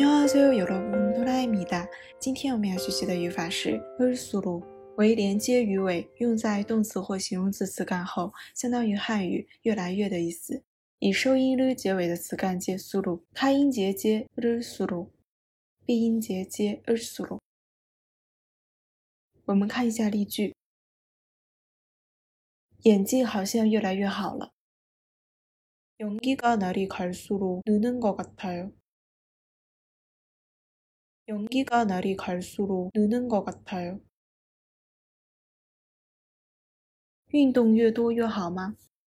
안녕하세요 여러분, 호라입니다。今天我们要学习的语法是 을수록， 为连接语尾，用在动词或形容词词干后，相当于汉语越来越的意思。以收音를结尾的词干接수록，开音节接을수록，闭音节接을수록。我们看一下例句。演技好像越来越好了。연기가 날이 갈수록 느는 것 같아요. 연기가 날이 갈수록 느는 것 같아요. 运动越多越好吗？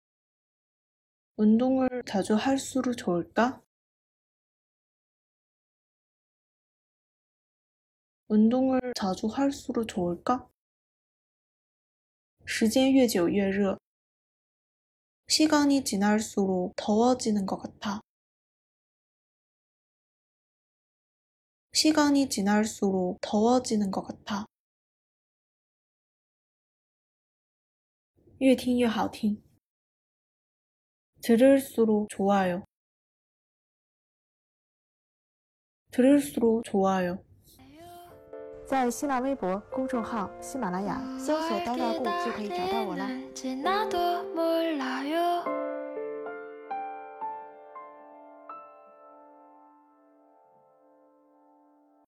운동을 자주 할수록 좋을까? 운동을 자주 할수록 좋을까? 时间越久越热。 시간이 지날수록 더워지는 것 같아. 시간이 지날수록 더워지는 것 같아. 越听越好听。 들을수록 좋아요. 들을수록 좋아요. 在新浪微博公众号喜马拉雅搜索呆大顾就可以找到我了。